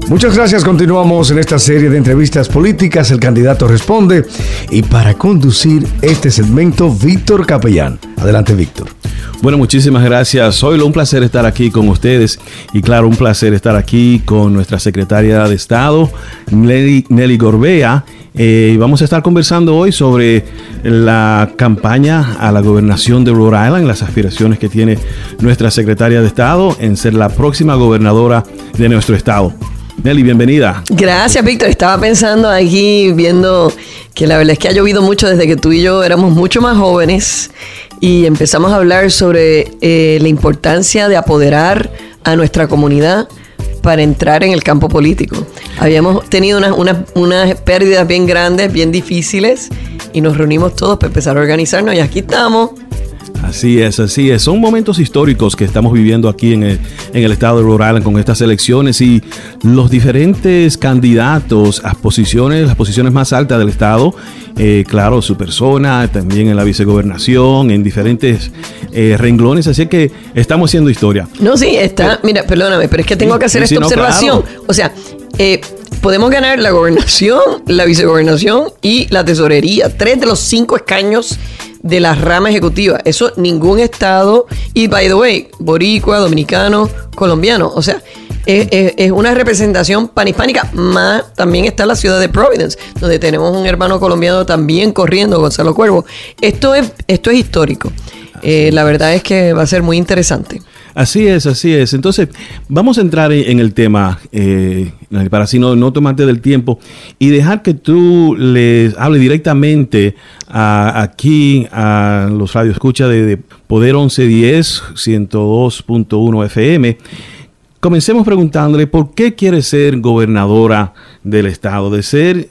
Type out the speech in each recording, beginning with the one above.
Muchas gracias. Continuamos en esta serie de entrevistas políticas. El candidato responde. Y para conducir este segmento, Víctor Capellán. Adelante, Víctor. Bueno, muchísimas gracias. Zoilo, un placer estar aquí con ustedes. Y claro, un placer estar aquí con nuestra secretaria de Estado, Nelly Gorbea. Vamos a estar conversando hoy sobre la campaña a la gobernación de Rhode Island, las aspiraciones que tiene nuestra secretaria de Estado en ser la próxima gobernadora de nuestro estado. Nelly, bienvenida. Gracias, Víctor. Estaba pensando aquí, viendo que la verdad es que ha llovido mucho desde que tú y yo éramos mucho más jóvenes y empezamos a hablar sobre la importancia de apoderar a nuestra comunidad para entrar en el campo político. Habíamos tenido unas pérdidas bien grandes, bien difíciles, y nos reunimos todos para empezar a organizarnos, y aquí estamos. Así es, así es. Son momentos históricos que estamos viviendo aquí en el estado de Rhode Island con estas elecciones y los diferentes candidatos a las posiciones más altas del estado. Claro, su persona, también en la vicegobernación, en diferentes renglones. Así que estamos haciendo historia. No, sí, está. Mira, perdóname, pero es que tengo que hacer esta observación. Claro. O sea, podemos ganar la gobernación, la vicegobernación y la tesorería. 3 de los 5 escaños de la rama ejecutiva. Eso ningún estado, y by the way, boricua, dominicano, colombiano, o sea, es una representación panhispánica. Más también está la ciudad de Providence, donde tenemos un hermano colombiano también corriendo, Gonzalo Cuervo. Esto es histórico. La verdad es que va a ser muy interesante. Así es, así es. Entonces, vamos a entrar en el tema, para así no tomarte del tiempo y dejar que tú les hable directamente aquí a los radioescuchas de Poder 1110, 102.1 FM. Comencemos preguntándole por qué quiere ser gobernadora del estado. De ser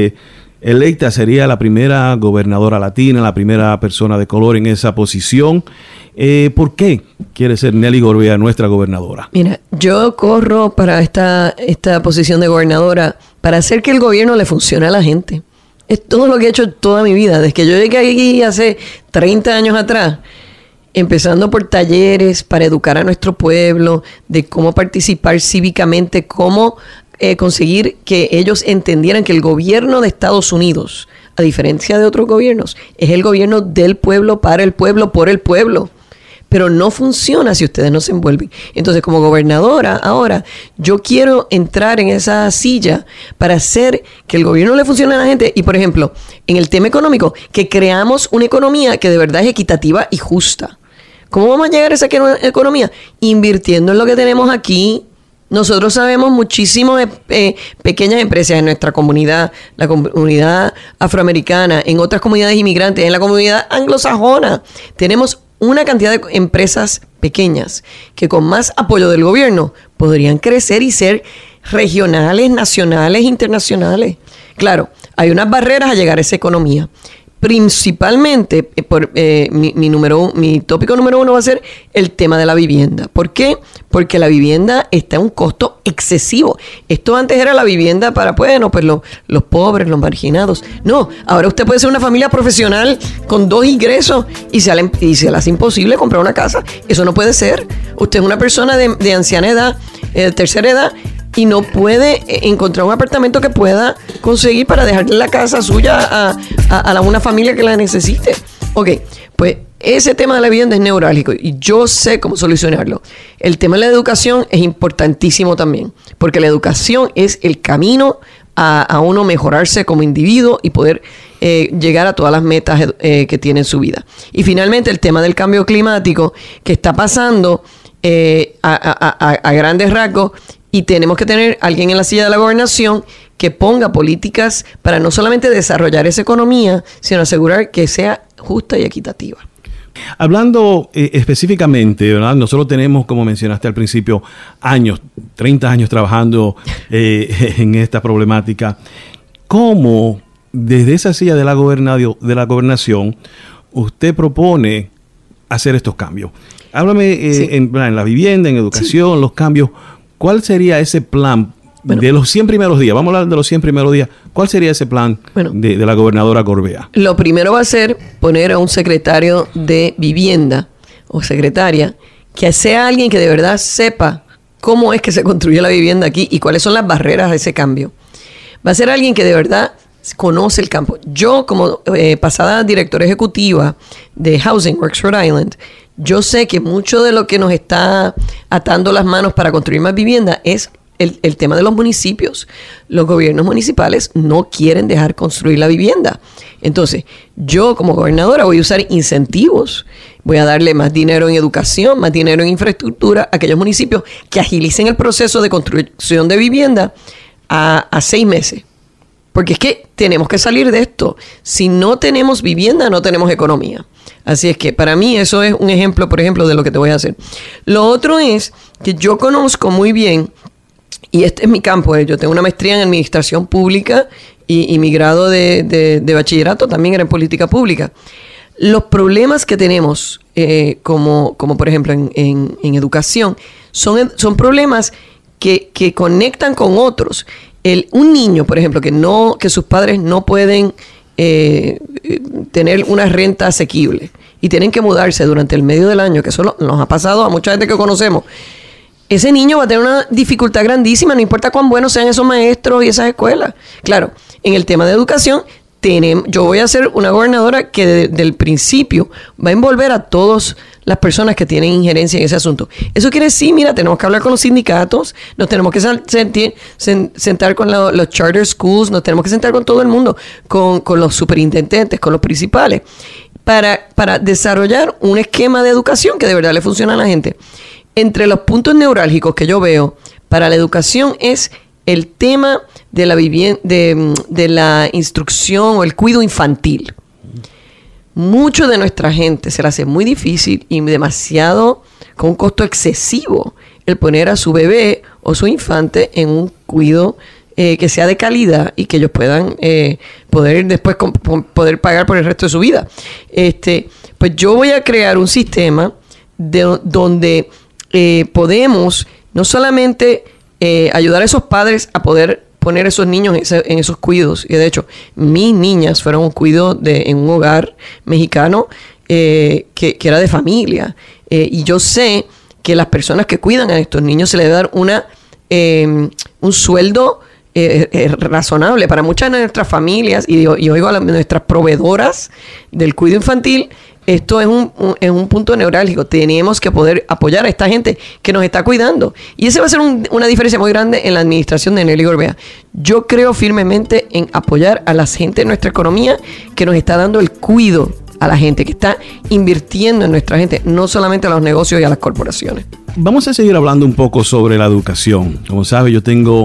electa, sería la primera gobernadora latina, la primera persona de color en esa posición. ¿Por qué quiere ser Nelly Gorbea nuestra gobernadora? Mira, yo corro para esta posición de gobernadora para hacer que el gobierno le funcione a la gente. Es todo lo que he hecho toda mi vida. Desde que yo llegué aquí hace 30 años atrás, empezando por talleres para educar a nuestro pueblo, de cómo participar cívicamente, cómo conseguir que ellos entendieran que el gobierno de Estados Unidos, a diferencia de otros gobiernos, es el gobierno del pueblo, para el pueblo, por el pueblo. Pero no funciona si ustedes no se envuelven. Entonces, como gobernadora, ahora, yo quiero entrar en esa silla para hacer que el gobierno le funcione a la gente. Y, por ejemplo, en el tema económico, que creamos una economía que de verdad es equitativa y justa. ¿Cómo vamos a llegar a esa economía? Invirtiendo en lo que tenemos aquí. Nosotros sabemos muchísimo de pequeñas empresas en nuestra comunidad, la comunidad afroamericana, en otras comunidades inmigrantes, en la comunidad anglosajona. Tenemos una cantidad de empresas pequeñas que con más apoyo del gobierno podrían crecer y ser regionales, nacionales, internacionales. Claro, hay unas barreras a llegar a esa economía. Principalmente, mi tópico número 1 va a ser el tema de la vivienda. ¿Por qué? Porque la vivienda está a un costo excesivo. Esto antes era la vivienda para, los pobres, los marginados. No, ahora usted puede ser una familia profesional con 2 ingresos y se le hace imposible comprar una casa. Eso no puede ser. Usted es una persona de anciana edad, tercera edad, y no puede encontrar un apartamento que pueda conseguir para dejarle la casa suya a una familia que la necesite. Ok, pues ese tema de la vivienda es neurálgico y yo sé cómo solucionarlo. El tema de la educación es importantísimo también, porque la educación es el camino a uno mejorarse como individuo y poder llegar a todas las metas que tiene en su vida. Y finalmente el tema del cambio climático que está pasando a grandes rasgos. Y tenemos que tener alguien en la silla de la gobernación que ponga políticas para no solamente desarrollar esa economía, sino asegurar que sea justa y equitativa. Hablando específicamente, ¿verdad? Nosotros tenemos, como mencionaste al principio, 30 años trabajando en esta problemática. ¿Cómo desde esa silla de la gobernación usted propone hacer estos cambios? Háblame Sí. en la vivienda, en educación, los cambios. ¿Cuál sería ese plan de los 100 primeros días? Vamos a hablar de los 100 primeros días. ¿Cuál sería ese plan de la gobernadora Gorbea? Lo primero va a ser poner a un secretario de vivienda o secretaria que sea alguien que de verdad sepa cómo es que se construye la vivienda aquí y cuáles son las barreras a ese cambio. Va a ser alguien que de verdad conoce el campo. Yo, como pasada directora ejecutiva de Housing Works Rhode Island, yo sé que mucho de lo que nos está atando las manos para construir más vivienda es el tema de los municipios. Los gobiernos municipales no quieren dejar construir la vivienda. Entonces, yo como gobernadora voy a usar incentivos. Voy a darle más dinero en educación, más dinero en infraestructura a aquellos municipios que agilicen el proceso de construcción de vivienda a 6 meses. Porque es que tenemos que salir de esto. Si no tenemos vivienda, no tenemos economía. Así es que para mí eso es un ejemplo, por ejemplo, de lo que te voy a hacer. Lo otro es que yo conozco muy bien, y este es mi campo, yo tengo una maestría en administración pública y mi grado de bachillerato también era en política pública. Los problemas que tenemos, como por ejemplo en educación, son problemas que conectan con otros. Un niño, por ejemplo, que sus padres no pueden tener una renta asequible y tienen que mudarse durante el medio del año, que eso nos ha pasado a mucha gente que conocemos. Ese niño va a tener una dificultad grandísima, no importa cuán buenos sean esos maestros y esas escuelas. Claro, en el tema de educación, yo voy a ser una gobernadora que desde el principio va a envolver a todas las personas que tienen injerencia en ese asunto. Eso quiere decir, mira, tenemos que hablar con los sindicatos, nos tenemos que sentar con los charter schools, nos tenemos que sentar con todo el mundo, con los superintendentes, con los principales, para desarrollar un esquema de educación que de verdad le funcione a la gente. Entre los puntos neurálgicos que yo veo para la educación es el tema de la de la instrucción o el cuidado infantil. Mucho de nuestra gente se le hace muy difícil y demasiado, con un costo excesivo, el poner a su bebé o su infante en un cuidado que sea de calidad y que ellos puedan poder después poder pagar por el resto de su vida. Pues yo voy a crear un sistema donde podemos no solamente ayudar a esos padres a poder poner a esos niños en esos cuidados. Y de hecho, mis niñas fueron un cuidado en un hogar mexicano que era de familia. Y yo sé que las personas que cuidan a estos niños se les debe dar un sueldo razonable. Para muchas de nuestras familias, y oigo a nuestras proveedoras del cuidado infantil, esto es un punto neurálgico. Tenemos que poder apoyar a esta gente que nos está cuidando. Y ese va a ser una diferencia muy grande en la administración de Nelly Gorbea. Yo creo firmemente en apoyar a la gente de nuestra economía que nos está dando el cuidado a la gente, que está invirtiendo en nuestra gente, no solamente a los negocios y a las corporaciones. Vamos a seguir hablando un poco sobre la educación. Como sabe, yo tengo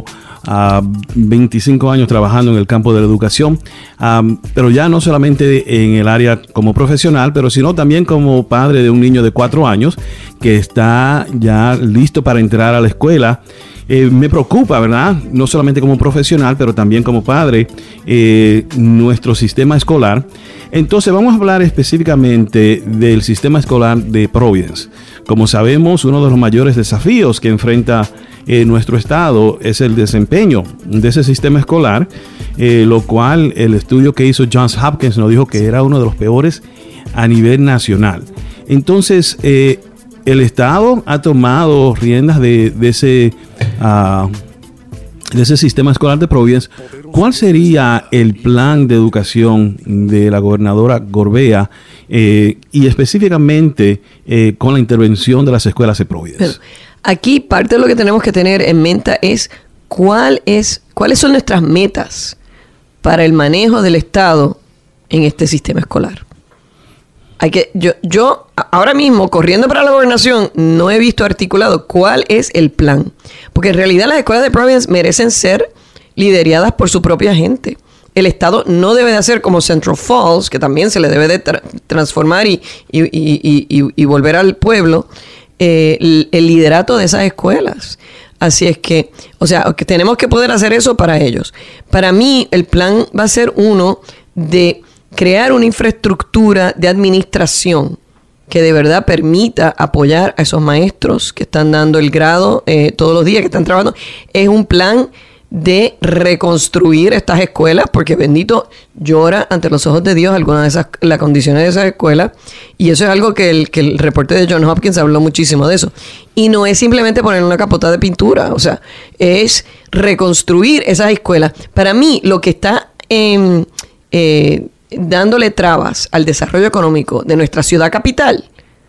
25 años trabajando en el campo de la educación, pero ya no solamente en el área como profesional, pero sino también como padre de un niño de 4 años que está ya listo para entrar a la escuela. Me preocupa, ¿verdad? No solamente como profesional, pero también como padre, nuestro sistema escolar. Entonces vamos a hablar específicamente del sistema escolar de Providence. Como sabemos, uno de los mayores desafíos que enfrenta nuestro estado es el desempeño de ese sistema escolar, lo cual el estudio que hizo Johns Hopkins nos dijo que era uno de los peores a nivel nacional. Entonces, el estado ha tomado riendas de ese sistema escolar de Providence. ¿Cuál sería el plan de educación de la gobernadora Gorbea y específicamente con la intervención de las escuelas de Providence? Pero aquí parte de lo que tenemos que tener en mente es cuáles son nuestras metas para el manejo del Estado en este sistema escolar. Yo ahora mismo, corriendo para la gobernación, no he visto articulado cuál es el plan. Porque en realidad las escuelas de Providence merecen ser lideradas por su propia gente. El Estado no debe de hacer como Central Falls, que también se le debe de transformar y volver al pueblo el liderato de esas escuelas. Así es que, que tenemos que poder hacer eso para ellos. Para mí, el plan va a ser uno de crear una infraestructura de administración que de verdad permita apoyar a esos maestros que están dando el grado todos los días, que están trabajando. Es un plan de reconstruir estas escuelas, porque bendito llora ante los ojos de Dios algunas de esas, las condiciones de esas escuelas, y eso es algo que el reporte de Johns Hopkins habló muchísimo de eso. Y no es simplemente poner una capota de pintura, o sea, es reconstruir esas escuelas. Para mí, lo que está dándole trabas al desarrollo económico de nuestra ciudad capital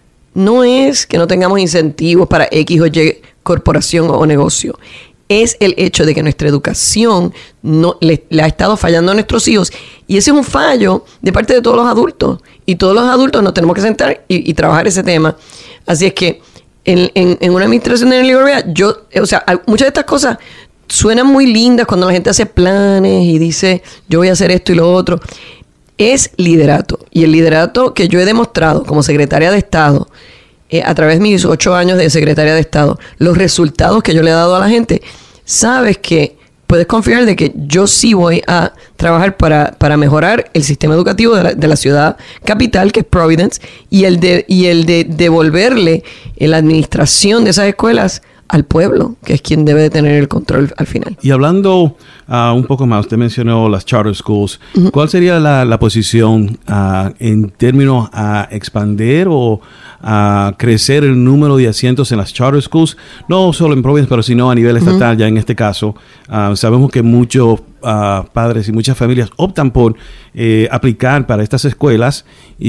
no es que no tengamos incentivos para X o Y corporación o negocio. Es el hecho de que nuestra educación no le ha estado fallando a nuestros hijos. Y ese es un fallo de parte de todos los adultos. Y todos los adultos nos tenemos que sentar y trabajar ese tema. Así es que en una administración de Nelly Gorbea, muchas de estas cosas suenan muy lindas cuando la gente hace planes y dice, yo voy a hacer esto y lo otro. Es liderato. Y el liderato que yo he demostrado como secretaria de Estado, a través de mis 8 años de secretaria de Estado, los resultados que yo le he dado a la gente, sabes que puedes confiar de que yo sí voy a trabajar para mejorar el sistema educativo de la ciudad capital, que es Providence, y el de devolverle la administración de esas escuelas al pueblo, que es quien debe de tener el control al final. Y hablando un poco más, usted mencionó las charter schools. Uh-huh. ¿Cuál sería la posición en términos a expandir o a crecer el número de asientos en las charter schools? No solo en Providence, pero sino a nivel estatal. Uh-huh. Ya en este caso, sabemos que muchos padres y muchas familias optan por aplicar para estas escuelas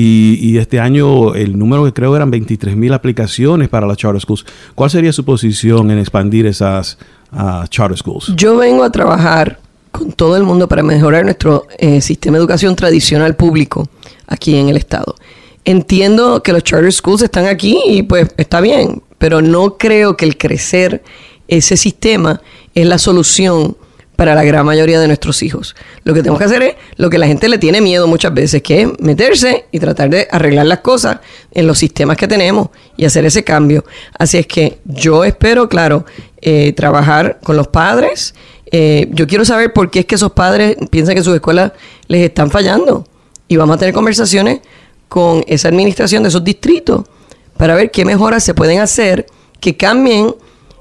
y este año el número que creo eran 23,000 aplicaciones para las charter schools. ¿Cuál sería su posición en expandir esas charter schools? Yo vengo a trabajar con todo el mundo para mejorar nuestro sistema de educación tradicional público aquí en el estado. Entiendo que los charter schools están aquí y pues está bien, pero no creo que el crecer ese sistema es la solución para la gran mayoría de nuestros hijos. Lo que tenemos que hacer es lo que la gente le tiene miedo muchas veces, que es meterse y tratar de arreglar las cosas en los sistemas que tenemos y hacer ese cambio. Así es que yo espero, claro, trabajar con los padres. Yo quiero saber por qué es que esos padres piensan que sus escuelas les están fallando. Y vamos a tener conversaciones con esa administración de esos distritos para ver qué mejoras se pueden hacer que cambien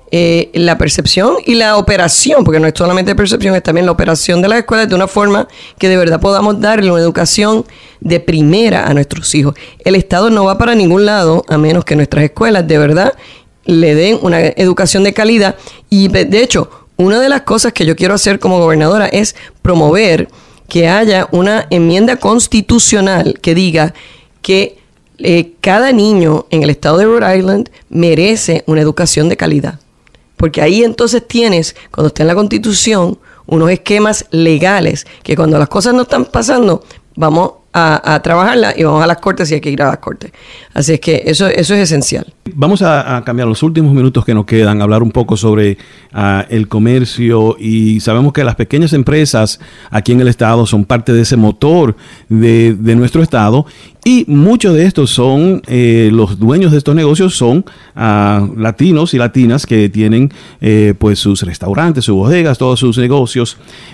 la percepción y la operación, porque no es solamente percepción, es también la operación de las escuelas de una forma que de verdad podamos darle una educación de primera a nuestros hijos. El Estado no va para ningún lado a menos que nuestras escuelas de verdad le den una educación de calidad. Y de hecho, una de las cosas que yo quiero hacer como gobernadora es promover que haya una enmienda constitucional que diga que cada niño en el estado de Rhode Island merece una educación de calidad. Porque ahí entonces tienes, cuando está en la Constitución, unos esquemas legales que cuando las cosas no están pasando, vamos a trabajarlas y vamos a las cortes si hay que ir a las cortes. Así es que eso es esencial. Vamos a cambiar los últimos minutos que nos quedan, hablar un poco sobre el comercio, y sabemos que las pequeñas empresas aquí en el estado son parte de ese motor de nuestro estado, y muchos de estos son, los dueños de estos negocios son latinos y latinas que tienen pues sus restaurantes, sus bodegas, todos sus negocios.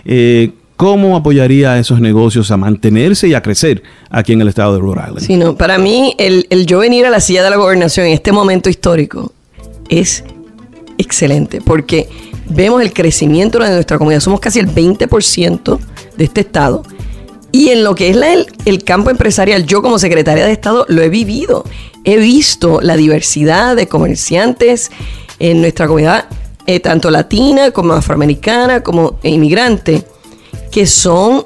¿Cómo apoyaría a esos negocios a mantenerse y a crecer aquí en el estado de Rhode Island? Sí, no, para mí, el yo venir a la silla de la gobernación en este momento histórico es excelente, porque vemos el crecimiento de nuestra comunidad. Somos casi el 20% de este estado. Y en lo que es el campo empresarial, yo como secretaria de Estado lo he vivido. He visto la diversidad de comerciantes en nuestra comunidad, tanto latina como afroamericana, como inmigrante, que son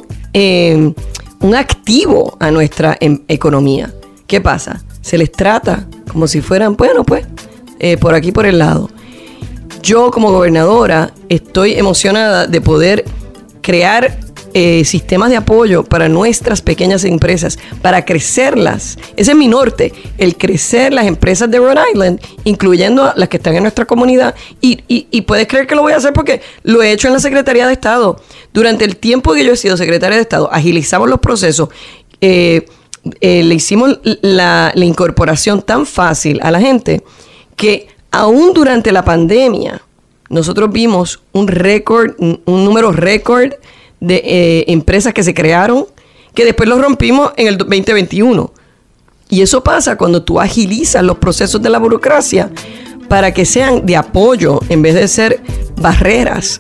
un activo a nuestra economía. ¿Qué pasa? Se les trata como si fueran, bueno, pues, por aquí, por el lado. Yo como gobernadora estoy emocionada de poder crear sistemas de apoyo para nuestras pequeñas empresas, para crecerlas. Ese es mi norte, el crecer las empresas de Rhode Island, incluyendo las que están en nuestra comunidad. Y puedes creer que lo voy a hacer porque lo he hecho en la Secretaría de Estado. Durante el tiempo que yo he sido secretaria de Estado, agilizamos los procesos, le hicimos la incorporación tan fácil a la gente que aún durante la pandemia nosotros vimos un número récord de empresas que se crearon, que después los rompimos en el 2021. Y eso pasa cuando tú agilizas los procesos de la burocracia para que sean de apoyo en vez de ser barreras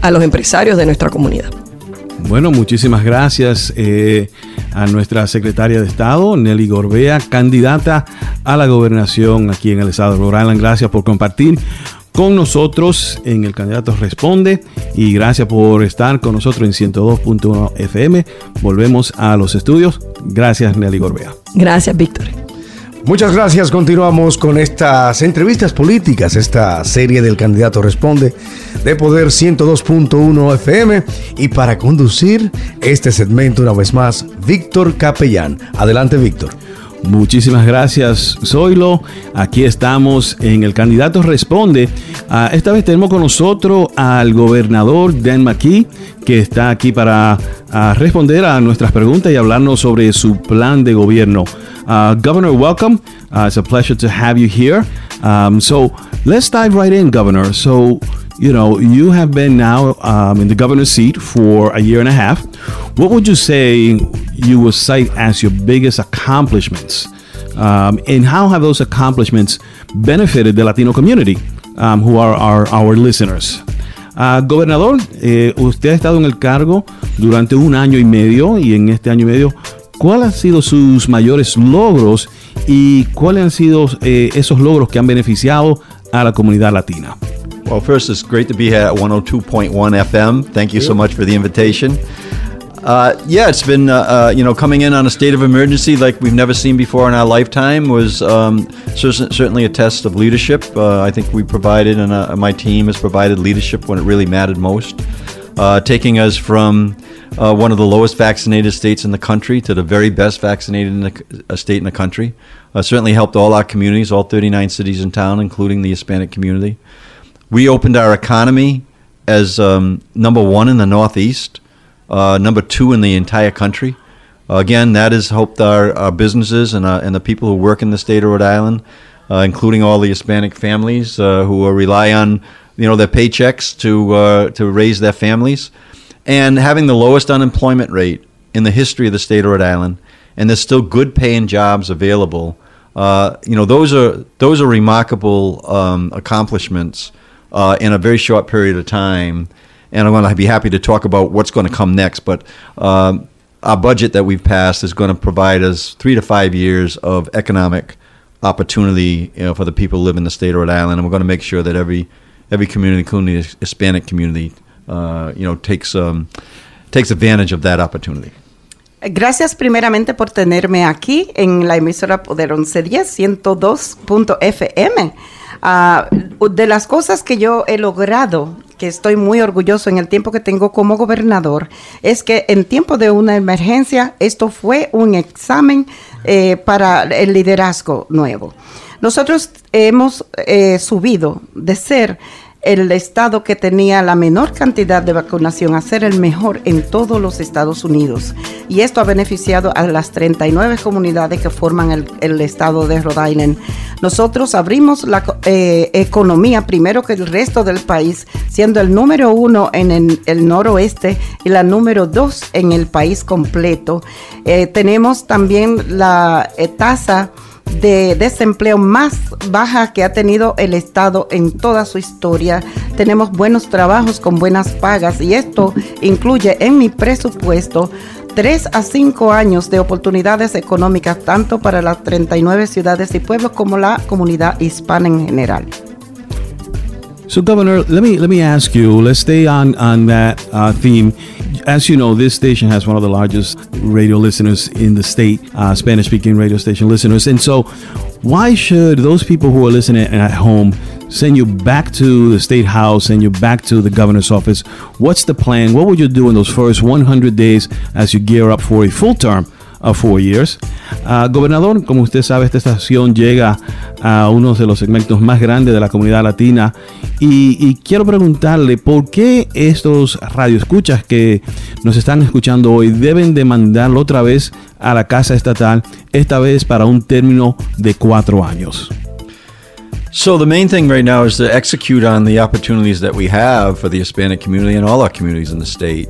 a los empresarios de nuestra comunidad. Bueno, muchísimas gracias a nuestra secretaria de Estado, Nelly Gorbea, candidata a la gobernación aquí en el estado de Rhode Island. Gracias por compartir con nosotros en El Candidato Responde y gracias por estar con nosotros en 102.1 FM. Volvemos a los estudios. Gracias, Nelly Gorbea. Gracias, Víctor. Muchas gracias. Continuamos con estas entrevistas políticas, esta serie del Candidato Responde de Poder 102.1 FM. Y para conducir este segmento una vez más, Víctor Capellán. Adelante, Víctor. Muchísimas gracias, Zoilo. Aquí estamos en El Candidato Responde. Esta vez tenemos con nosotros al gobernador Dan McKee, que está aquí para responder a nuestras preguntas y hablarnos sobre su plan de gobierno. Governor, welcome. It's a pleasure to have you here. So let's dive right in, Governor. So, you have been now in the governor's seat for a year and a half. What would you say you would cite as your biggest accomplishments? And how have those accomplishments benefited the Latino community, who are our listeners? Gobernador, usted ha estado en el cargo durante 1 año y medio y en este año y medio, ¿cuáles han sido sus mayores logros y cuáles han sido esos logros que han beneficiado a la comunidad latina? Well, first, it's great to be here at 102.1 FM. Thank you so much for the invitation. It's been, coming in on a state of emergency like we've never seen before in our lifetime was certainly a test of leadership. I think we provided, and my team has provided leadership when it really mattered most, taking us from one of the lowest vaccinated states in the country to the very best vaccinated state in the country. Certainly helped all our communities, all 39 cities in town, including the Hispanic community. We opened our economy as number 1 in the Northeast, number 2 in the entire country. Again, that has helped our businesses and the people who work in the state of Rhode Island, including all the Hispanic families who rely on their paychecks to raise their families, and having the lowest unemployment rate in the history of the state of Rhode Island, and there's still good paying jobs available. Those are remarkable accomplishments in a very short period of time, and I'm going to be happy to talk about what's going to come next. But our budget that we've passed is going to provide us 3 to 5 years of economic opportunity, for the people who live in the state of Rhode Island, and we're going to make sure that every community, including the Hispanic community, takes advantage of that opportunity. Gracias primeramente por tenerme aquí en la emisora Poder 1110, 102.fm. De las cosas que yo he logrado, que estoy muy orgulloso en el tiempo que tengo como gobernador, es que en tiempo de una emergencia, esto fue un examen para el liderazgo nuevo. Nosotros hemos subido de ser el estado que tenía la menor cantidad de vacunación a ser el mejor en todos los Estados Unidos. Y esto ha beneficiado a las 39 comunidades que forman el estado de Rhode Island. Nosotros abrimos la economía primero que el resto del país, siendo el número 1 en el noroeste y la número 2 en el país completo. Tenemos también la tasa de desempleo más baja que ha tenido el estado en toda su historia. Tenemos buenos trabajos con buenas pagas y esto incluye en mi presupuesto 3 a 5 años de oportunidades económicas tanto para las 39 ciudades y pueblos como la comunidad hispana en general. So, Governor, let me ask you. Let's stay on that theme. As you know, this station has one of the largest radio listeners in the state, Spanish-speaking radio station listeners. And so, why should those people who are listening at home send you back to the State House, send you back to the governor's office? What's the plan? What would you do in those first 100 days as you gear up for a full term of 4 years? Gobernador, como usted sabe, esta estación llega a uno de los segmentos más grandes de la comunidad latina y quiero preguntarle por qué estos radioescuchas que nos están escuchando hoy deben de mandarlo otra vez a la Casa Estatal, esta vez para un término de 4 años. So the main thing right now is to execute on the opportunities that we have for the Hispanic community and all our communities in the state.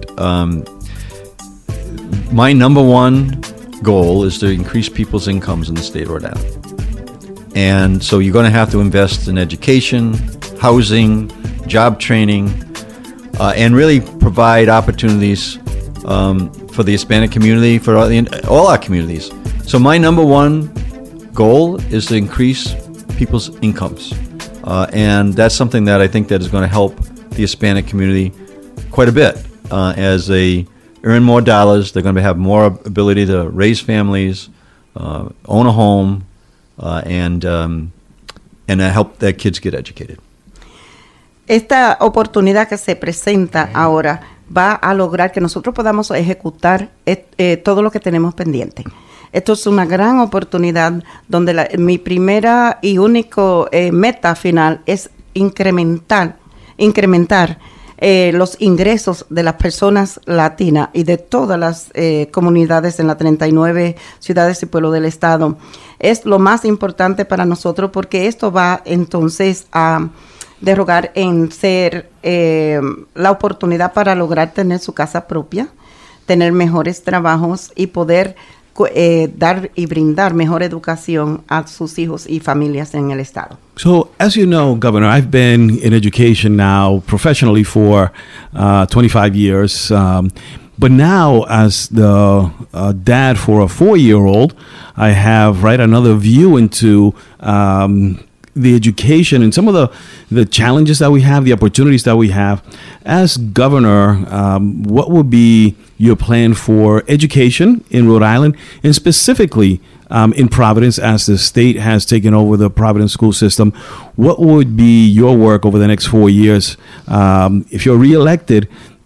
My number one goal is to increase people's incomes in the state of Rhode Island. And so you're going to have to invest in education, housing, job training. and really provide opportunities for the Hispanic community, for all our communities. So my number one goal is to increase people's incomes. And that's something that I think that is going to help the Hispanic community quite a bit. As they earn more dollars, they're going to have more ability to raise families, own a home, and help their kids get educated. Esta oportunidad que se presenta ahora va a lograr que nosotros podamos ejecutar todo lo que tenemos pendiente. Esto es una gran oportunidad donde mi primera y único meta final es incrementar los ingresos de las personas latinas y de todas las comunidades en las 39 ciudades y pueblos del estado. Es lo más importante para nosotros porque esto va entonces a derogar en ser la oportunidad para lograr tener su casa propia, tener mejores trabajos y poder dar y brindar mejor educación a sus hijos y familias en el estado. So, as you know, Governor, I've been in education now professionally for 25 years. But now, as the dad for a 4-year-old, I have another view into the education and some of the challenges that we have, the opportunities that we have. As governor, what would be your plan for education in Rhode Island, and specifically in Providence, as the state has taken over the Providence school system? What would be your work over the next 4 years? If you're reelected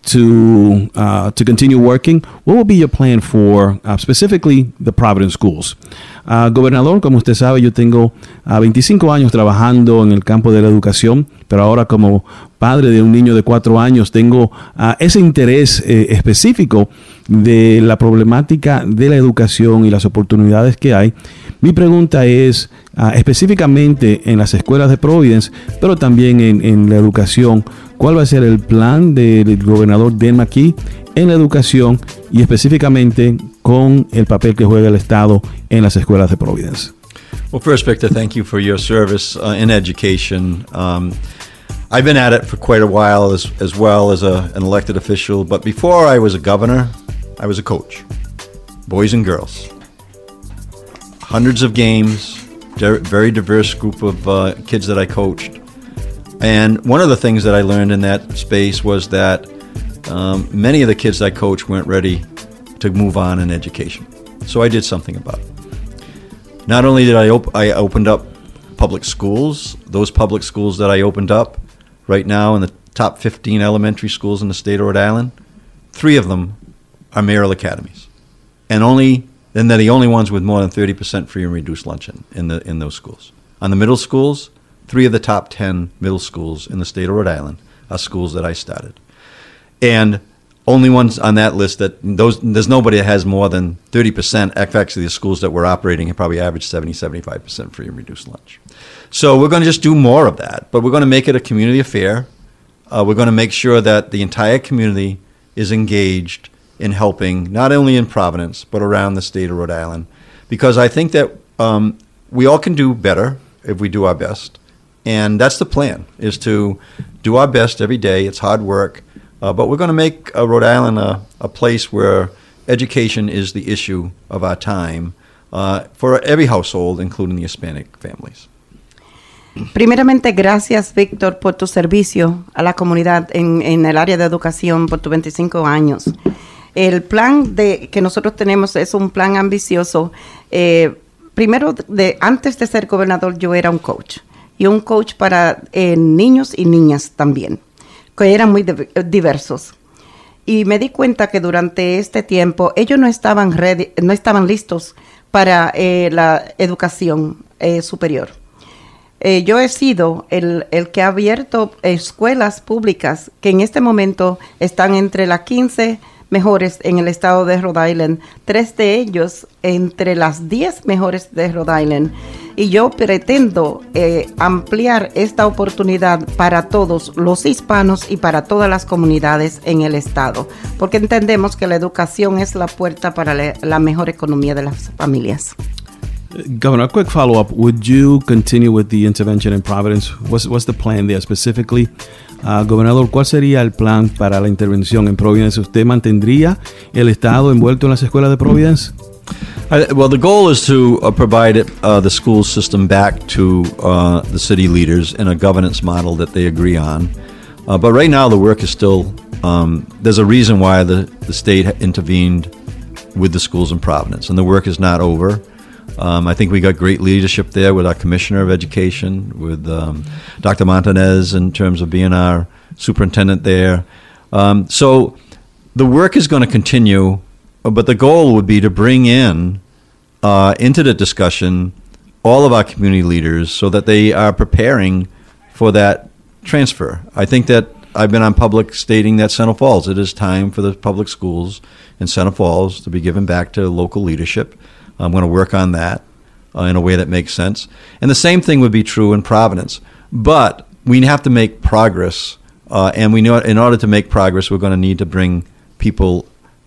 to continue working, what would be your plan for specifically the Providence schools? Gobernador, como usted sabe, yo tengo 25 años trabajando en el campo de la educación, pero ahora como padre de un niño de 4 años tengo ese interés específico de la problemática de la educación y las oportunidades que hay. Mi pregunta es específicamente en las escuelas de Providence, pero también en la educación, ¿cuál va a ser el plan del gobernador Dan McKee en la educación y específicamente con el papel que juega el Estado en las escuelas de Providence? Well, first, Victor, thank you for your service in education. I've been at it for quite a while as well as an elected official, but before I was a governor, I was a coach, boys and girls. Hundreds of games, very diverse group of kids that I coached. And one of the things that I learned in that space was that many of the kids I coached weren't ready to move on in education. So I did something about it. Not only did I opened up public schools, those public schools that I opened up right now in the top 15 elementary schools in the state of Rhode Island, 3 of them are mayoral academies. And they're the only ones with more than 30% free and reduced lunch in those schools. On the middle schools, 3 of the top 10 middle schools in the state of Rhode Island are schools that I started. And only ones on that list there's nobody that has more than 30%. Actually, the schools that we're operating have probably averaged 75% free and reduced lunch. So we're going to just do more of that, but we're going to make it a community affair. We're going to make sure that the entire community is engaged in helping, not only in Providence, but around the state of Rhode Island. Because I think that we all can do better if we do our best. And that's the plan, is to do our best every day. It's hard work. But we're going to make Rhode Island a place where education is the issue of our time for every household, including the Hispanic families. Primeramente, gracias, Víctor, por tu servicio a la comunidad en el área de educación por tus 25 años. El plan que nosotros tenemos es un plan ambicioso. Primero, antes de ser gobernador, yo era un coach. Y un coach para niños y niñas también, que eran muy diversos. Y me di cuenta que durante este tiempo ellos no estaban listos para la educación superior. Yo he sido el que ha abierto escuelas públicas que en este momento están entre las 15 mejores en el estado de Rhode Island, 3 de ellos entre las 10 mejores de Rhode Island. Y yo pretendo ampliar esta oportunidad para todos los hispanos y para todas las comunidades en el estado, porque entendemos que la educación es la puerta para la mejor economía de las familias. Governor, a quick follow-up. Would you continue with the intervention in Providence? What's the plan there specifically? Gobernador, ¿cuál sería el plan para la intervención en Providence? ¿Usted mantendría el Estado envuelto en las escuelas de Providence? Well, the goal is to provide the school system back to the city leaders in a governance model that they agree on. But right now, the work is still, there's a reason why the state intervened with the schools in Providence, and the work is not over. I think we got great leadership there with our Commissioner of Education, with Dr. Montanez in terms of being our superintendent there. So the work is going to continue, but the goal would be to bring in into the discussion all of our community leaders so that they are preparing for that transfer. I think that I've been on public stating that Central Falls, it is time for the public schools in Central Falls to be given back to local leadership. I'm going to work on that in a way that makes sense. And the same thing would be true in Providence. But we have to make progress, and we know in order to make progress, we're going to need to bring people,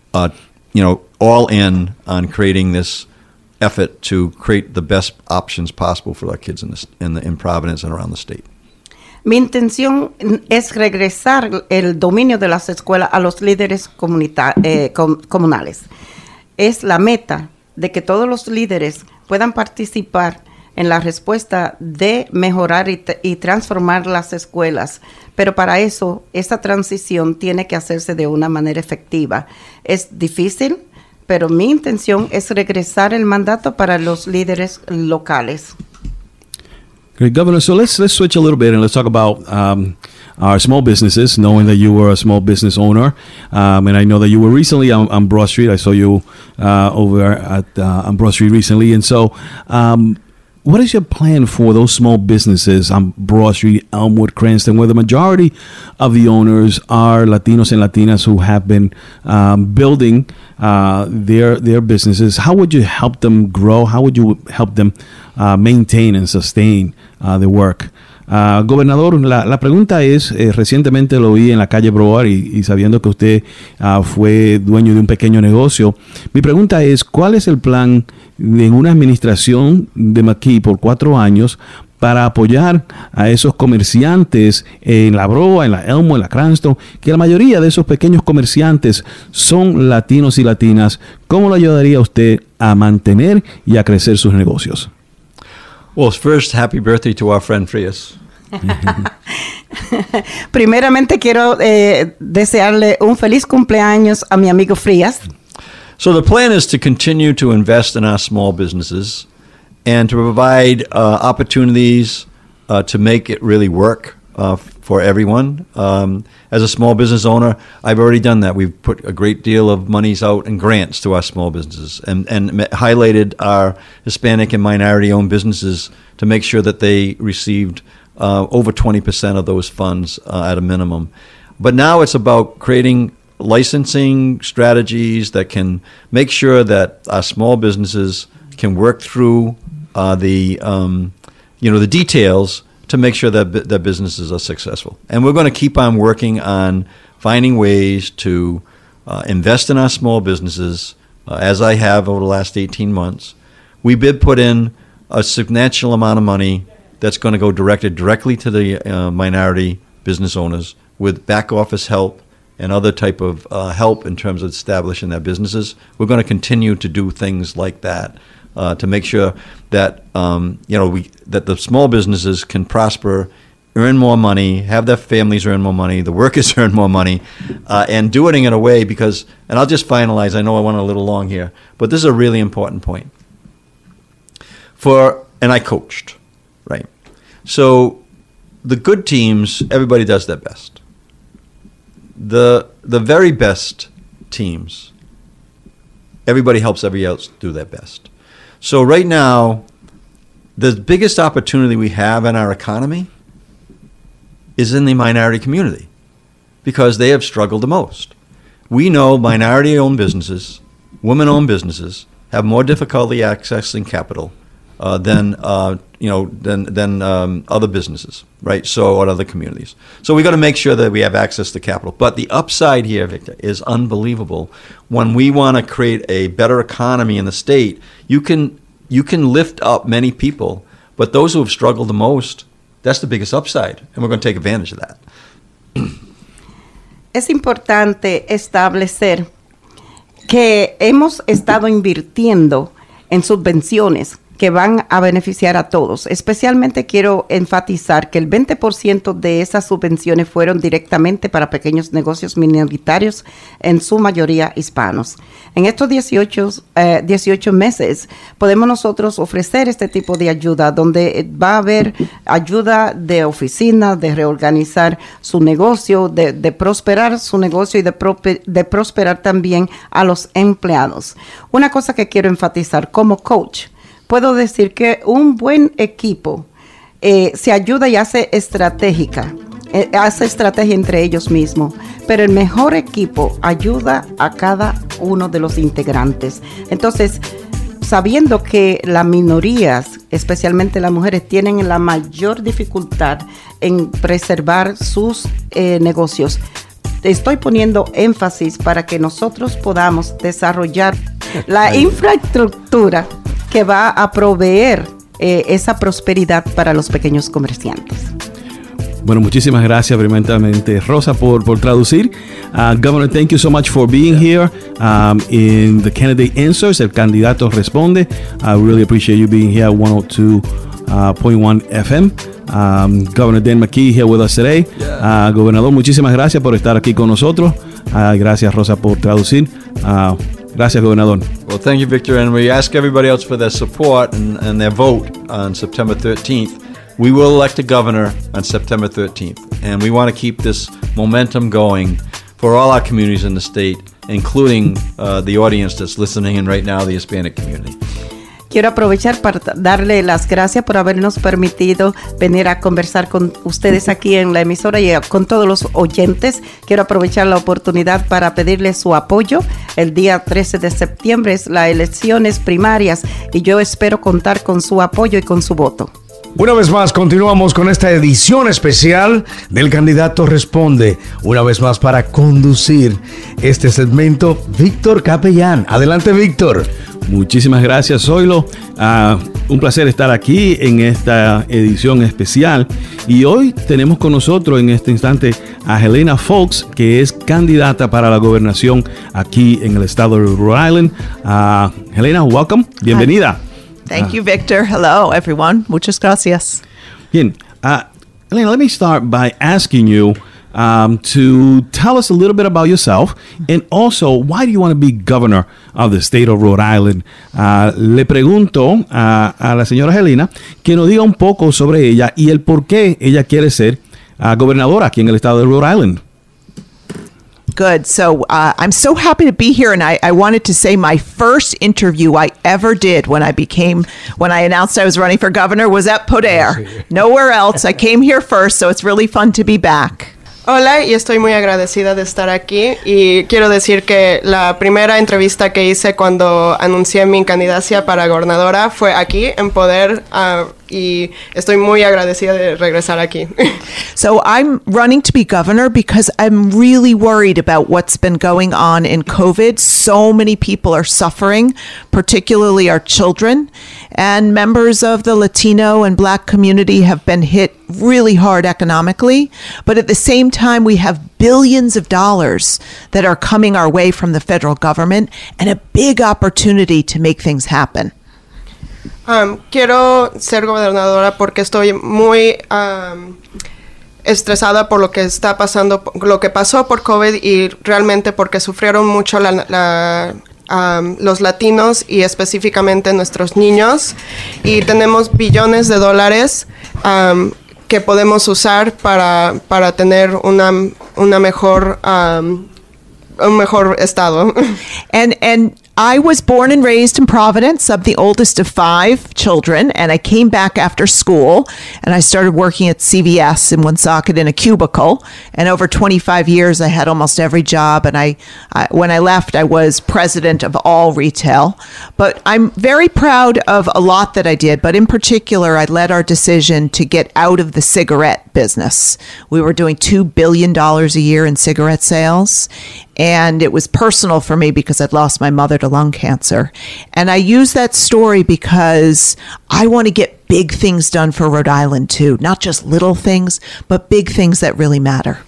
all in on creating this effort to create the best options possible for our kids in Providence and around the state. Mi intención es regresar el dominio de las escuelas a los líderes comunales. Es la meta de que todos los líderes puedan participar en la respuesta de mejorar y transformar las escuelas. Pero para eso, esa transición tiene que hacerse de una manera efectiva. Es difícil, pero mi intención es regresar el mandato para los líderes locales. Great, Governor. So let's switch a little bit and let's talk about our small businesses, knowing that you were a small business owner. And I know that you were recently on Broad Street. I saw you over at on Broad Street recently. And so what is your plan for those small businesses on Broad Street, Elmwood, Cranston, where the majority of the owners are Latinos and Latinas who have been building their businesses? How would you help them grow? How would you help them maintain and sustain the work? Gobernador, la pregunta es, recientemente lo vi en la calle Broad y sabiendo que usted fue dueño de un pequeño negocio, mi pregunta es, ¿cuál es el plan en una administración de McKee por 4 años para apoyar a esos comerciantes en la Broad, en la Elmwood, en la Cranston, que la mayoría de esos pequeños comerciantes son latinos y latinas? ¿Cómo lo ayudaría usted a mantener y a crecer sus negocios? Well, first, happy birthday to our friend Frias. Primeramente quiero desearle un feliz cumpleaños a mi amigo Frias. So the plan is to continue to invest in our small businesses and to provide opportunities to make it really work for everyone. As a small business owner, I've already done that. We've put a great deal of monies out in grants to our small businesses and highlighted our Hispanic and minority-owned businesses to make sure that they received over 20% of those funds at a minimum. But now it's about creating licensing strategies that can make sure that our small businesses can work through the details to make sure that their businesses are successful. And we're going to keep on working on finding ways to invest in our small businesses, as I have over the last 18 months. We did put in a substantial amount of money that's going to go directly to the minority business owners with back office help and other type of help in terms of establishing their businesses. We're going to continue to do things like that to make sure that that the small businesses can prosper, earn more money, have their families earn more money, the workers earn more money, and do it in a way because, and I'll just finalize, I know I went a little long here, but this is a really important point. And I coached, right? So the good teams, everybody does their best. The very best teams, everybody helps everybody else do their best. So right now, the biggest opportunity we have in our economy is in the minority community because they have struggled the most. We know minority-owned businesses, women-owned businesses, have more difficulty accessing capital than other businesses, right? So, or other communities. So we got to make sure that we have access to capital. But the upside here, Victor, is unbelievable. When we want to create a better economy in the state, you can you can lift up many people, but those who have struggled the most, that's the biggest upside, and we're going to take advantage of that. Es importante establecer que hemos estado invirtiendo en subvenciones que van a beneficiar a todos. Especialmente quiero enfatizar que el 20% de esas subvenciones fueron directamente para pequeños negocios minoritarios, en su mayoría hispanos. En estos 18 meses podemos nosotros ofrecer este tipo de ayuda, donde va a haber ayuda de oficina, de reorganizar su negocio, de prosperar su negocio y de prosperar también a los empleados. Una cosa que quiero enfatizar como coach, puedo decir que un buen equipo se ayuda y hace estrategia entre ellos mismos, pero el mejor equipo ayuda a cada uno de los integrantes. Entonces, sabiendo que las minorías, especialmente las mujeres, tienen la mayor dificultad en preservar sus negocios, estoy poniendo énfasis para que nosotros podamos desarrollar la infraestructura que va a proveer esa prosperidad para los pequeños comerciantes. Bueno, muchísimas gracias primeramente, Rosa, por traducir. Governor, thank you so much for being here in the Candidate Answers, el candidato responde. I really appreciate you being here at 102.1 FM. Governor Dan McKee here with us today. Gobernador, muchísimas gracias por estar aquí con nosotros. Gracias, Rosa, por traducir. Gracias, Gobernador. Well, thank you, Victor, and we ask everybody else for their support and their vote on September 13th. We will elect a governor on September 13th, and we want to keep this momentum going for all our communities in the state, including the audience that's listening in right now, the Hispanic community. Quiero aprovechar para darle las gracias por habernos permitido venir a conversar con ustedes aquí en la emisora y con todos los oyentes. Quiero aprovechar la oportunidad para pedirles su apoyo. El día 13 de septiembre es las elecciones primarias y yo espero contar con su apoyo y con su voto. Una vez más, continuamos con esta edición especial del Candidato Responde. Una vez más, para conducir este segmento, Víctor Capellán. Adelante, Víctor. Muchísimas gracias, Zoilo. Un placer estar aquí en esta edición especial. Y hoy tenemos con nosotros en este instante a Helena Foulkes, que es candidata para la gobernación aquí en el estado de Rhode Island. Helena, welcome. Bienvenida. Thank you, Victor. Hello, everyone. Muchas gracias. Bien. Helena, let me start by asking you to tell us a little bit about yourself and also why do you want to be governor of the state of Rhode Island. Le pregunto a la señora Helena que nos diga un poco sobre ella y el por qué ella quiere ser gobernadora aquí en el estado de Rhode Island. Good. So I'm so happy to be here, and I wanted to say my first interview I ever did when I announced I was running for governor was at Poder. Nowhere else. I came here first, so it's really fun to be back. Hola, y estoy muy agradecida de estar aquí y quiero decir que la primera entrevista que hice cuando anuncié mi candidatura para gobernadora fue aquí en Poder y estoy muy agradecida de regresar aquí. So I'm running to be governor because I'm really worried about what's been going on in COVID. So many people are suffering, particularly our children, and members of the Latino and Black community have been hit really hard economically. But at the same time, we have billions of dollars that are coming our way from the federal government and a big opportunity to make things happen. Quiero ser gobernadora porque estoy muy estresada por lo que está pasando, lo que pasó por COVID y realmente porque sufrieron mucho los latinos y específicamente nuestros niños, y tenemos billones de dólares que podemos usar para tener una mejor un mejor estado. And I was born and raised in Providence. I'm the oldest of 5 children, and I came back after school, and I started working at CVS in Woonsocket in a cubicle. And over 25 years, I had almost every job, and I when I left, I was president of all retail. But I'm very proud of a lot that I did, but in particular, I led our decision to get out of the cigarette business. We were doing $2 billion a year in cigarette sales, and it was personal for me because I'd lost my mother to lung cancer. And I use that story because I want to get big things done for Rhode Island too, not just little things, but big things that really matter.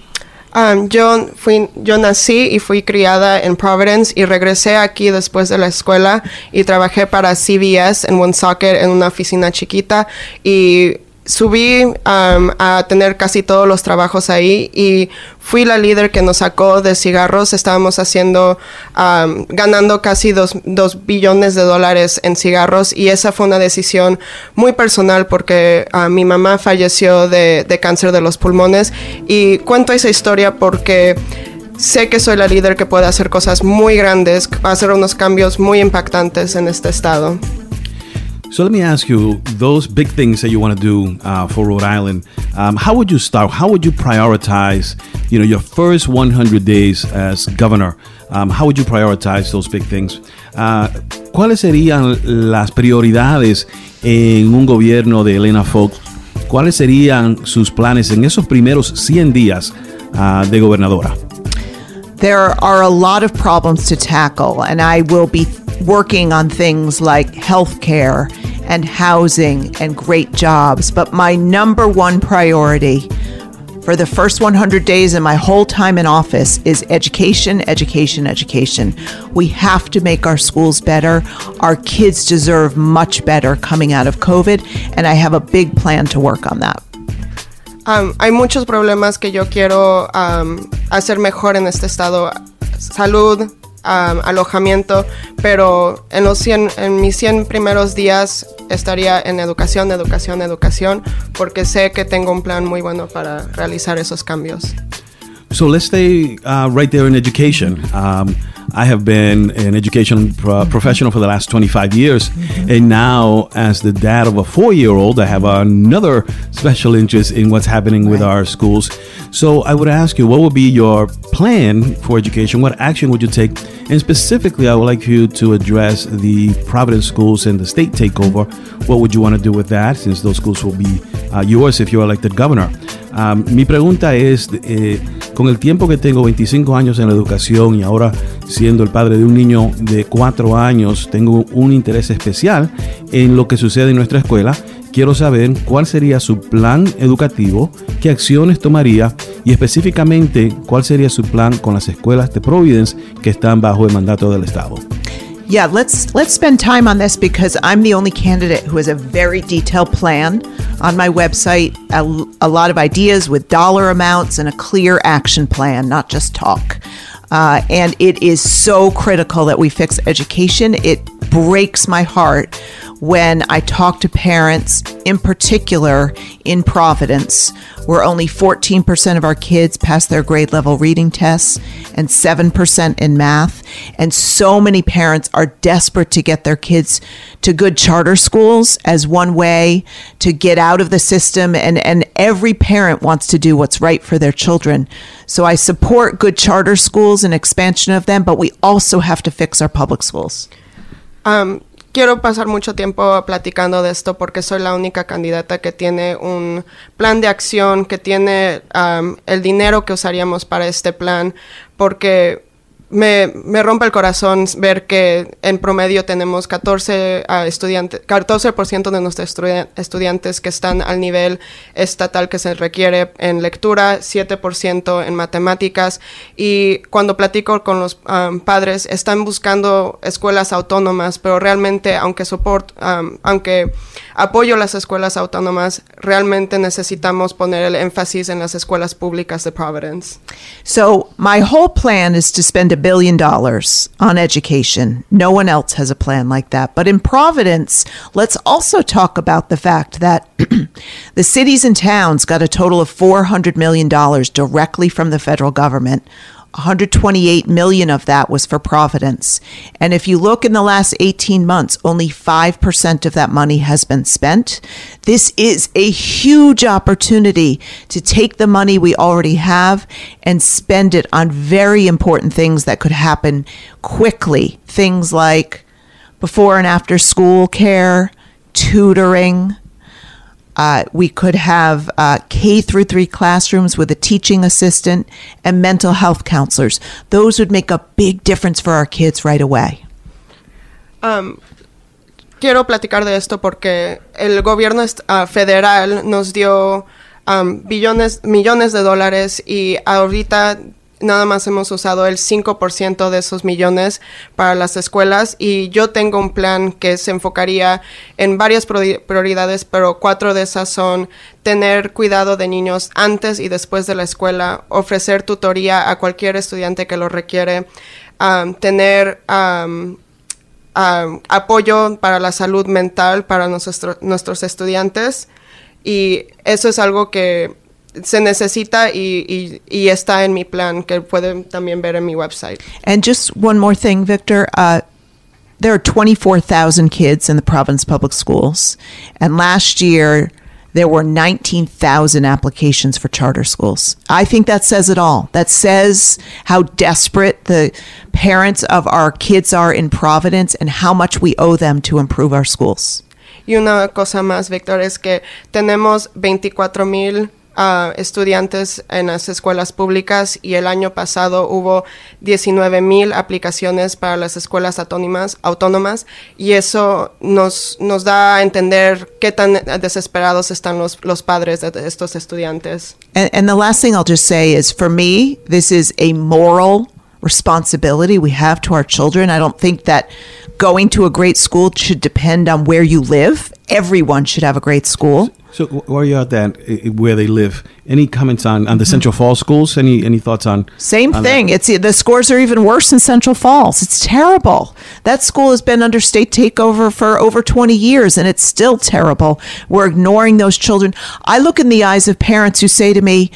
Yo nací y fui criada en Providence y regresé aquí después de la escuela y trabajé para CVS en Woonsocket en una oficina chiquita y subí a tener casi todos los trabajos ahí y fui la líder que nos sacó de cigarros. Estábamos ganando casi $2 billones en cigarros y esa fue una decisión muy personal porque mi mamá falleció de cáncer de los pulmones y cuento esa historia porque sé que soy la líder que puede hacer cosas muy grandes, hacer unos cambios muy impactantes en este estado. So let me ask you, those big things that you want to do for Rhode Island, how would you start? How would you prioritize, your first 100 days as governor? How would you prioritize those big things? ¿Cuáles serían las prioridades en un gobierno de Elena Fox? ¿Cuáles serían sus planes en esos primeros 100 días de gobernadora? There are a lot of problems to tackle, and I will be working on things like healthcare and housing and great jobs. But my number one priority for the first 100 days and my whole time in office is education, education, education. We have to make our schools better. Our kids deserve much better coming out of COVID, and I have a big plan to work on that. Hay muchos problemas que yo quiero hacer mejor en este estado. Salud, alojamiento, pero en mis 100 primeros días estaría en educación, porque sé que tengo un plan muy bueno para realizar esos cambios. So let's stay right there in education. I have been an education professional for the last 25 years. And now, as the dad of a 4-year-old, I have another special interest in what's happening with our schools. So I would ask you, what would be your plan for education? What action would you take? And specifically, I would like you to address the Providence schools and the state takeover. What would you want to do with that, since those schools will be yours if you're elected governor? Mi pregunta es, con el tiempo que tengo, 25 años en la educación y ahora siendo el padre de un niño de 4 años, tengo un interés especial en lo que sucede en nuestra escuela. Quiero saber cuál sería su plan educativo, qué acciones tomaría y específicamente cuál sería su plan con las escuelas de Providence que están bajo el mandato del Estado. Yeah, let's spend time on this because I'm the only candidate who has a very detailed plan on my website, a lot of ideas with dollar amounts and a clear action plan, not just talk. And it is so critical that we fix education. It breaks my heart when I talk to parents, in particular in Providence, where only 14% of our kids pass their grade level reading tests and 7% in math. And so many parents are desperate to get their kids to good charter schools as one way to get out of the system. And every parent wants to do what's right for their children. So I support good charter schools and expansion of them, but we also have to fix our public schools. Quiero pasar mucho tiempo platicando de esto porque soy la única candidata que tiene un plan de acción, que tiene el dinero que usaríamos para este plan, porque me rompe el corazón ver que en promedio tenemos 14% de nuestros estudiantes que están al nivel estatal que se requiere en lectura, 7% en matemáticas, y cuando platico con los padres están buscando escuelas autónomas, pero realmente aunque apoyo las escuelas autónomas, realmente necesitamos poner el énfasis en las escuelas públicas de Providence. So my whole plan is to spend $1 billion on education. No one else has a plan like that. But in Providence, let's also talk about the fact that the cities and towns got a total of $400 million directly from the federal government. 128 million of that was for Providence. And if you look in the last 18 months, only 5% of that money has been spent. This is a huge opportunity to take the money we already have and spend it on very important things that could happen quickly. Things like before and after school care, tutoring. We could have K through 3 classrooms with a teaching assistant and mental health counselors. Those would make a big difference for our kids right away. Quiero platicar de esto porque el gobierno federal nos dio millones de dólares y ahorita nada más hemos usado el 5% de esos millones para las escuelas, y yo tengo un plan que se enfocaría en varias prioridades, pero 4 de esas son tener cuidado de niños antes y después de la escuela, ofrecer tutoría a cualquier estudiante que lo requiere, tener apoyo para la salud mental para nuestros estudiantes, y eso es algo que se necesita y está en mi plan, que pueden también ver en mi website. And just one more thing, Victor. There are 24,000 kids in the Providence Public Schools, and last year there were 19,000 applications for charter schools. I think that says it all. That says how desperate the parents of our kids are in Providence and how much we owe them to improve our schools. Y una cosa más, Víctor, es que tenemos 24,000 estudiantes en las escuelas públicas, y el año pasado hubo 19,000 aplicaciones para las escuelas autónomas, y eso nos da a entender qué tan desesperados están los padres de estos estudiantes. And the last thing I'll just say is, for me, this is a moral responsibility we have to our children. I don't think that going to a great school should depend on where you live. Everyone should have a great school. So where are you at that, where they live? Any comments on the Central Falls schools? Any thoughts on? Same on thing. that? The scores are even worse in Central Falls. It's terrible. That school has been under state takeover for over 20 years, and it's still terrible. We're ignoring those children. I look in the eyes of parents who say to me,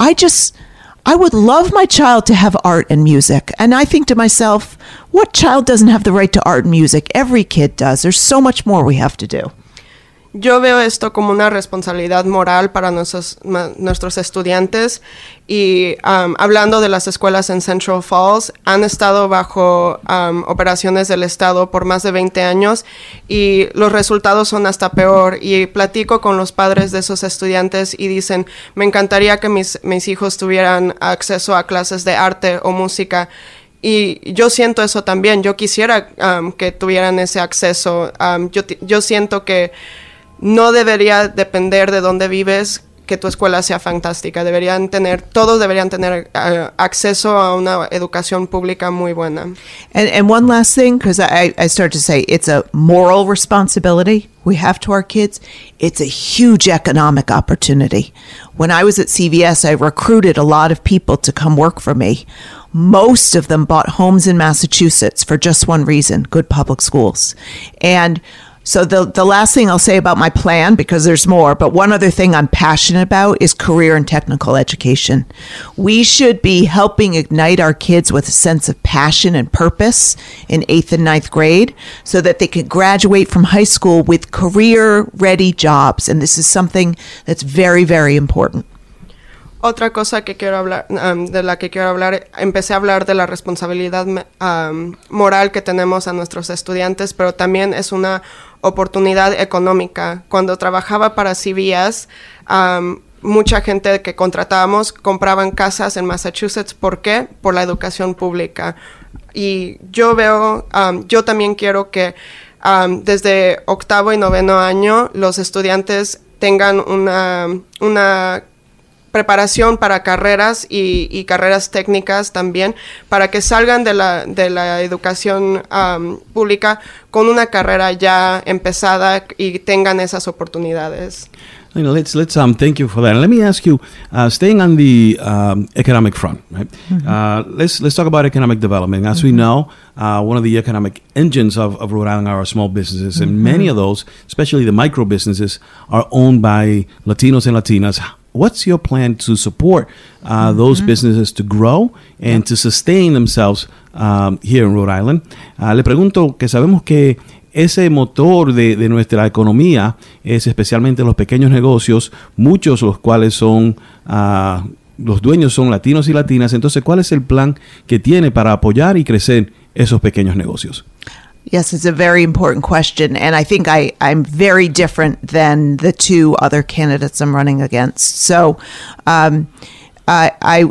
I would love my child to have art and music. And I think to myself, what child doesn't have the right to art and music? Every kid does. There's so much more we have to do. Yo veo esto como una responsabilidad moral para nuestros estudiantes, y hablando de las escuelas en Central Falls, han estado bajo operaciones del Estado por más de 20 años y los resultados son hasta peor, y platico con los padres de esos estudiantes y dicen, me encantaría que mis hijos tuvieran acceso a clases de arte o música. Y yo siento eso también. Yo quisiera que tuvieran ese acceso. Yo siento que no debería depender de dónde vives que tu escuela sea fantástica. Todos deberían tener acceso a una educación pública muy buena. And one last thing, because I started to say it's a moral responsibility we have to our kids. It's a huge economic opportunity. When I was at CVS, I recruited a lot of people to come work for me. Most of them bought homes in Massachusetts for just one reason: good public schools. And so the last thing I'll say about my plan, because there's more, but one other thing I'm passionate about is career and technical education. We should be helping ignite our kids with a sense of passion and purpose in 8th and 9th grade so that they can graduate from high school with career-ready jobs. And this is something that's very, very important. Otra cosa que quiero hablar, de la que quiero hablar, empecé a hablar de la responsabilidad moral que tenemos a nuestros estudiantes, pero también es una oportunidad económica. Cuando trabajaba para CVS, mucha gente que contratábamos compraban casas en Massachusetts. ¿Por qué? Por la educación pública. Y yo también quiero que desde 8º y 9º año los estudiantes tengan una preparación para carreras y carreras técnicas también, para que salgan de la educación pública con una carrera ya empezada y tengan esas oportunidades. Let's thank you for that. And let me ask you, staying on the economic front, right? Mm-hmm. Let's talk about economic development. As we know, one of the economic engines of Rhode Island are our small businesses, and many of those, especially the micro businesses, are owned by Latinos and Latinas. What's your plan to support those businesses to grow and to sustain themselves here in Rhode Island? Le pregunto que sabemos que ese motor de nuestra economía es especialmente los pequeños negocios, muchos los cuales son, los dueños son latinos y latinas. Entonces, ¿cuál es el plan que tiene para apoyar y crecer esos pequeños negocios? Yes, it's a very important question, and I think I'm very different than the two other candidates I'm running against. So I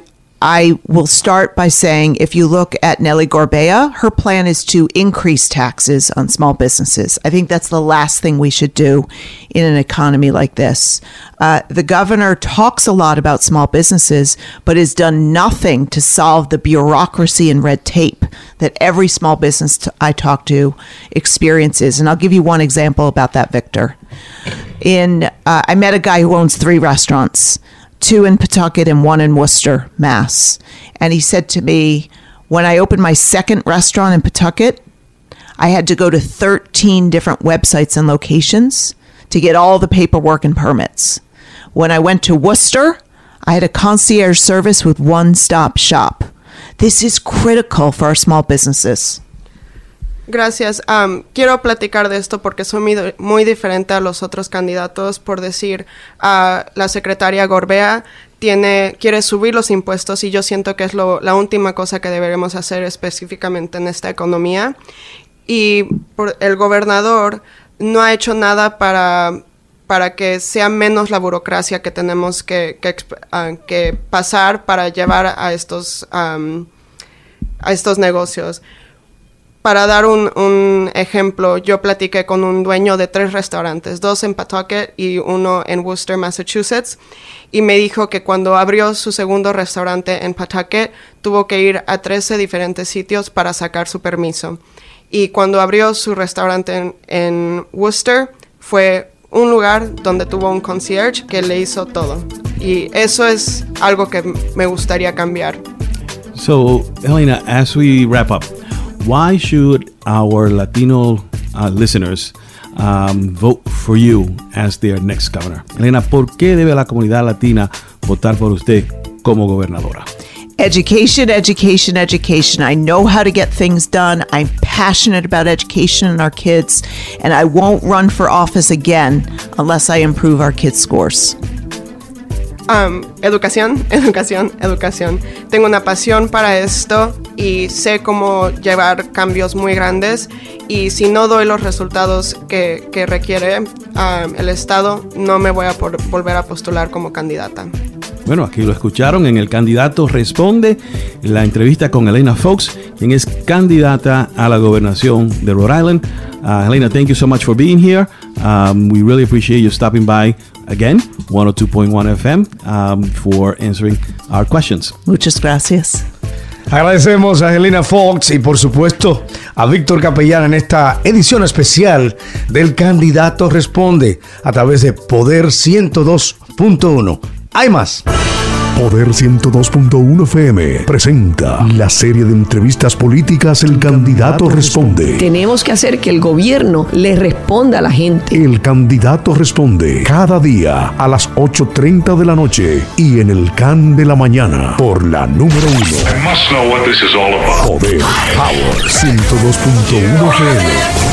I will start by saying, if you look at Nelly Gorbea, her plan is to increase taxes on small businesses. I think that's the last thing we should do in an economy like this. The governor talks a lot about small businesses, but has done nothing to solve the bureaucracy and red tape that every small business I talk to experiences. And I'll give you one example about that, Victor. I met a guy who owns 3 restaurants, 2 in Pawtucket and 1 in Worcester, Mass. And he said to me, when I opened my second restaurant in Pawtucket, I had to go to 13 different websites and locations to get all the paperwork and permits. When I went to Worcester, I had a concierge service with one-stop shop. This is critical for our small businesses. Gracias. Quiero platicar de esto porque soy muy diferente a los otros candidatos. Por decir, la secretaria Gorbea quiere subir los impuestos y yo siento que es la última cosa que deberemos hacer específicamente en esta economía. Y el gobernador no ha hecho nada para que sea menos la burocracia que tenemos que pasar para llevar a estos negocios. Para dar un ejemplo, yo platiqué con un dueño de 3 restaurantes, 2 en Pawtucket y 1 en Worcester, Massachusetts, y me dijo que cuando abrió su segundo restaurante en Pawtucket, tuvo que ir a 13 diferentes sitios para sacar su permiso. Y cuando abrió su restaurante en Worcester, fue un lugar donde tuvo un concierge que le hizo todo. Y eso es algo que me gustaría cambiar. So, Helena, as we wrap up, why should our Latino listeners vote for you as their next governor? Helena, ¿por qué debe la comunidad latina votar por usted como gobernadora? Education, education, education. I know how to get things done. I'm passionate about education and our kids, and I won't run for office again unless I improve our kids' scores. Educación, educación, educación. Tengo una pasión para esto y sé cómo llevar cambios muy grandes, y si no doy los resultados que requiere el Estado, no me voy a volver a postular como candidata. Bueno, aquí lo escucharon en El Candidato Responde, la entrevista con Helena Foulkes, quien es candidata a la gobernación de Rhode Island. Helena, thank you so much for being here. We really appreciate you stopping by again, 102.1 FM, for answering our questions. Muchas gracias. Agradecemos a Helena Foulkes y por supuesto a Víctor Capellán en esta edición especial del Candidato Responde a través de Poder 102.1. Hay más. Poder 102.1 FM presenta la serie de entrevistas políticas El Candidato Responde. Tenemos que hacer que el gobierno le responda a la gente. El Candidato Responde cada día a las 8:30 de la noche y en el CAN de la mañana por la número 1. I must know what this is all about. Poder Power 102.1 FM.